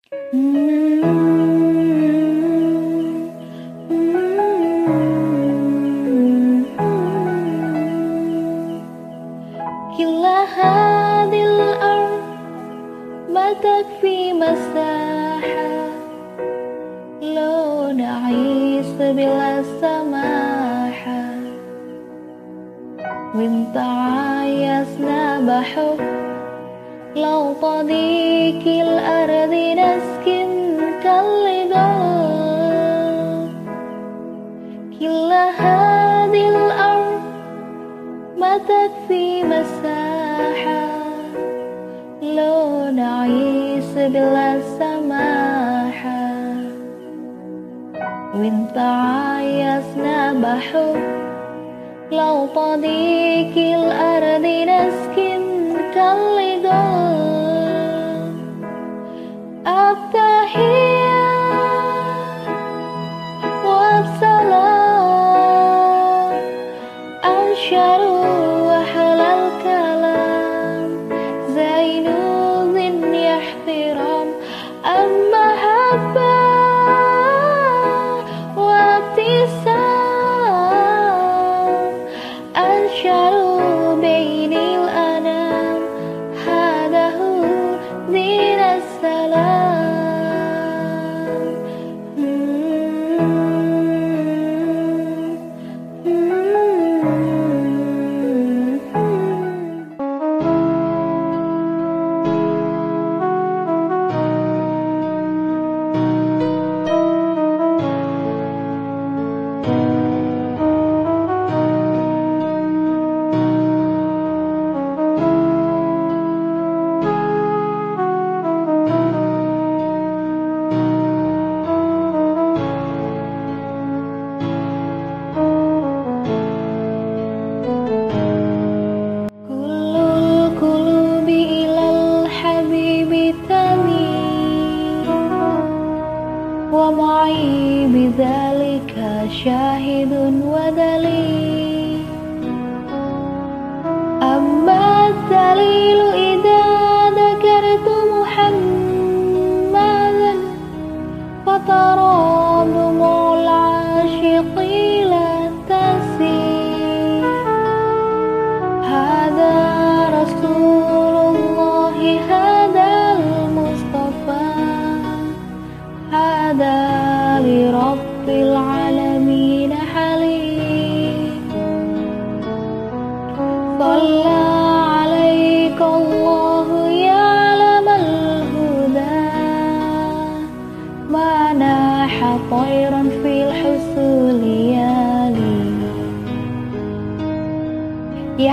كلا هذه الأرض ما تكفي مساحة لو نعيش بلا سماحة وإن تعايشنا بحب لو تضيق الأرض نسكن كاللقاء كلا هذه الأرض ما تكفي مساحة لو نعيش بلا سماحة وإن تعايشنا بحب لو تضيق الأرض نسكن كاللقاء التحية والسلام أنشر وأحلى الكلام زين ذي احترام المحبة وابتسام أنشر بين الأنام هذا هو دين السلام ومعي بذلك شاهد ودليل أما الدليل إذا ذكرت محمدا فترى دموع العاشقين تسيل هذا رسول الله هذا المصطفى هذا لرب العالمين حليم صلى عليك الله يا علم الهدى ما ناح طيرا في الحصول يالي يا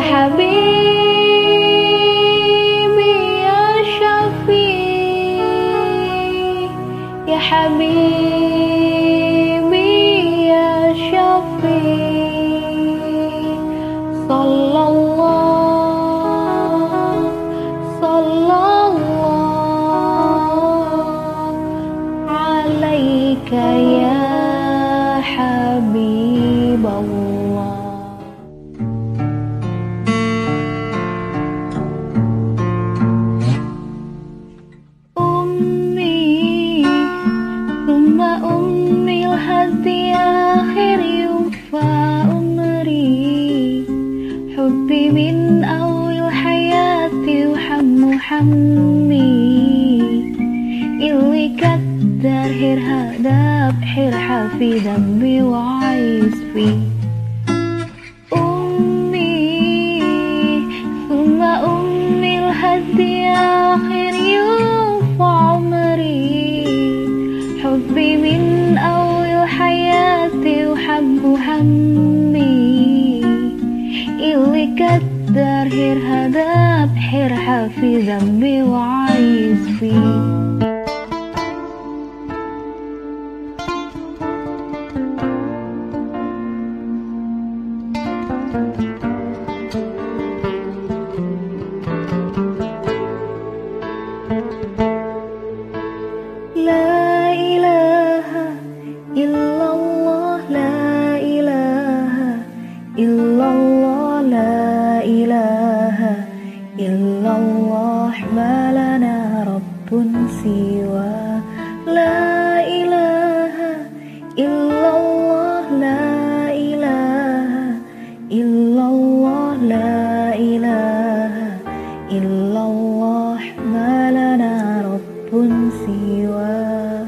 حبيبي يا شفيع يا حبيبي يا شفيع صلى الله عليك يا حبيب الله ثم أمي الهدي آخر يوفى أمري حبي من أول حياتي وحمي اللي كدر هرهدا بحر في ذنبي وعايز فيه أمي ثم أمي الهدي آخر يوفى عمري حبي من أول حياتي وحب همي اللي كدر هرهدا بحر في ذنبي وعايز فيه لا إله إلا الله لا إله إلا الله لا إله إلا الله ما لنا رب سواه siwa.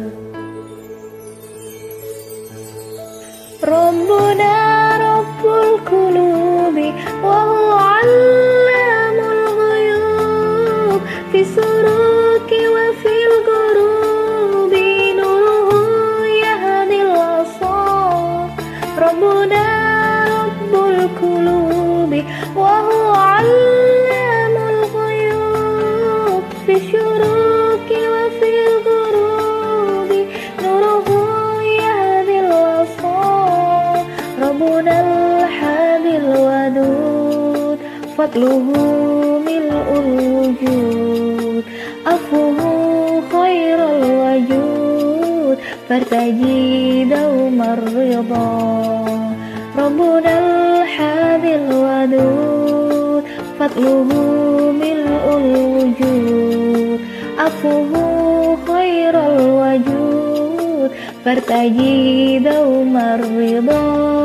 Rabbuna Rabbul Qulubi wa huwa 'allamul ghuyub, fi suruki wa fil ghurubi nuruhu yahdil asar. Rabbuna Rabbul Qulubi wa huwa 'allamul ghuyub, fi suruki wa fil ghurubi nuruhu yahdil asar. Rabbuna al-hadil wadud, fadluhu mil'ul wujud, afuhu khairul wajud, fartaji daumar ridha. Rabbuna al-hadil wadud, fadluhu mil'ul wujud, afuhu khairul wajud, fartaji daumar ridha.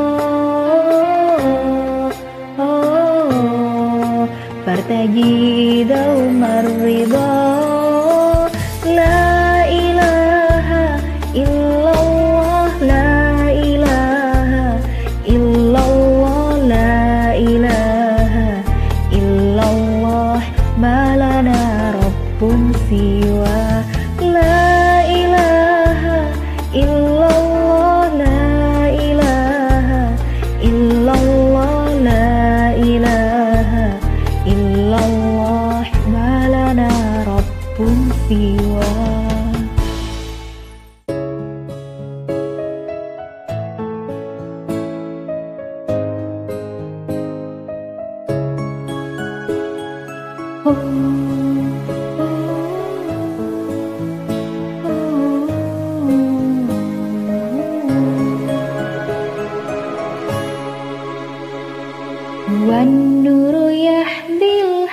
Fartaji daumar ridha. La ilaha illallah, la ilaha illallah, la ilaha illallah, malana rabbun siwa. La ilaha illallah, la ilaha illallah, la ilaha illallah, malana rabbun siwa. Wan nuru yahdil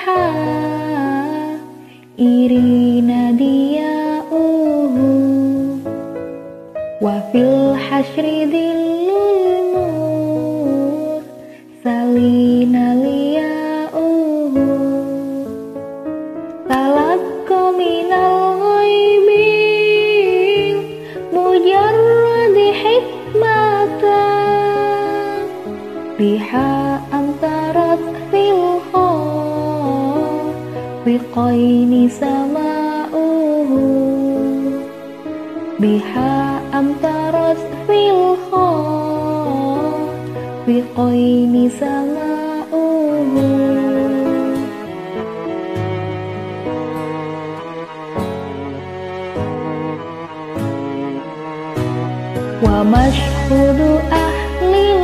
irina diya'uhu, wa fil hasyri dhillul nur salina liya'uhu. Talaqqa minal ghaibi mujarradi hikmatan, biha antarat fil biqaini sama'uhu, biha amtarat fil biqaini sama'uhu. Wa mashhudu ahlil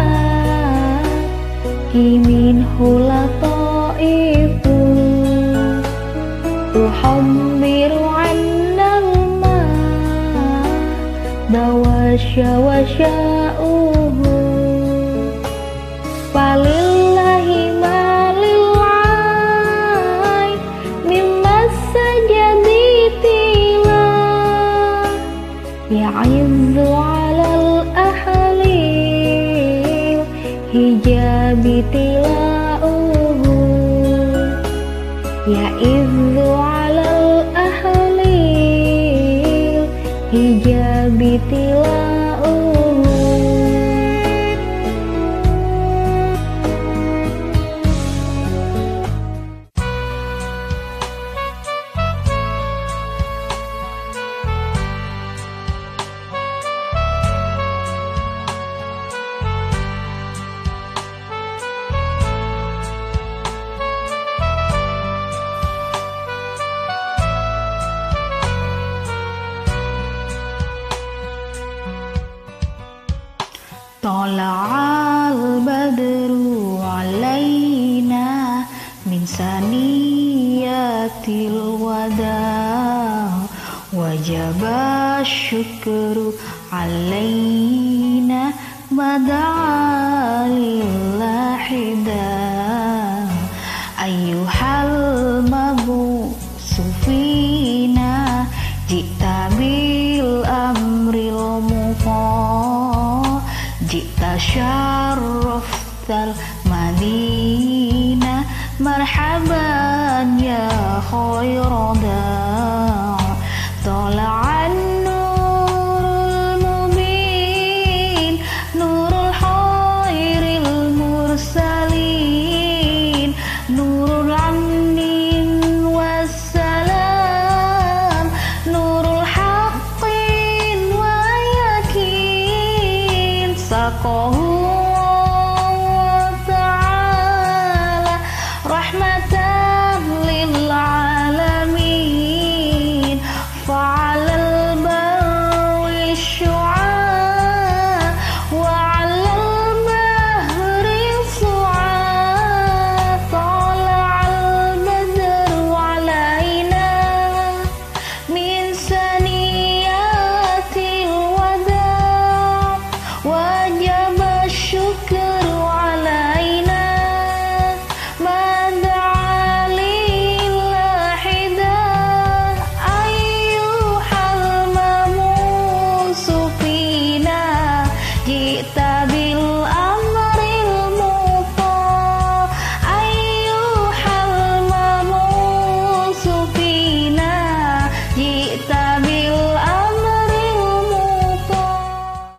kimin hulataifu, tuhammiru annal ma dawasya wa sya'uhu. Falillahi malil ay mimmas sajadi tila, ya'izzu alal ahli hijabi tilauhu, ya'izzu alal ahli hijabi tilauhu. Tola'al badru alaina min saniyatil wada, wajaba syukru alaina bada'alillahida. Ayyuhal mabusu fina jita bil amril muqa, jita syarraftal madinah, marhaban ya khairada.